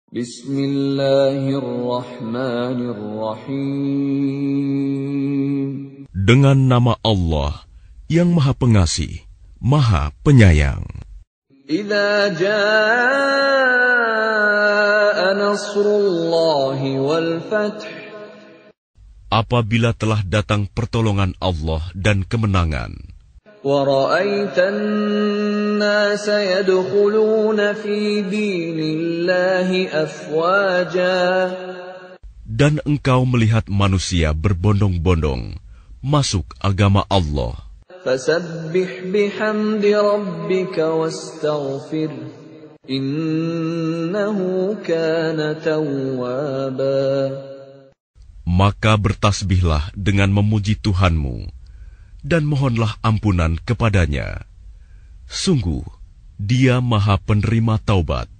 Bismillahirrahmanirrahim. Dengan nama Allah yang Maha Pengasih, Maha Penyayang. Idza jaa nasrullahi wal fath. Apabila telah datang pertolongan Allah dan kemenangan. Wa ra'aitan nasa yadkhuluna fi dinillahi afwaja. Dan engkau melihat manusia berbondong-bondong masuk agama Allah. Fasabbih bihamdi rabbika wastaghfir. Innahu kana tawwaba. Maka bertasbihlah dengan memuji Tuhanmu, dan mohonlah ampunan kepadanya. Sungguh, Dia Maha Penerima Taubat.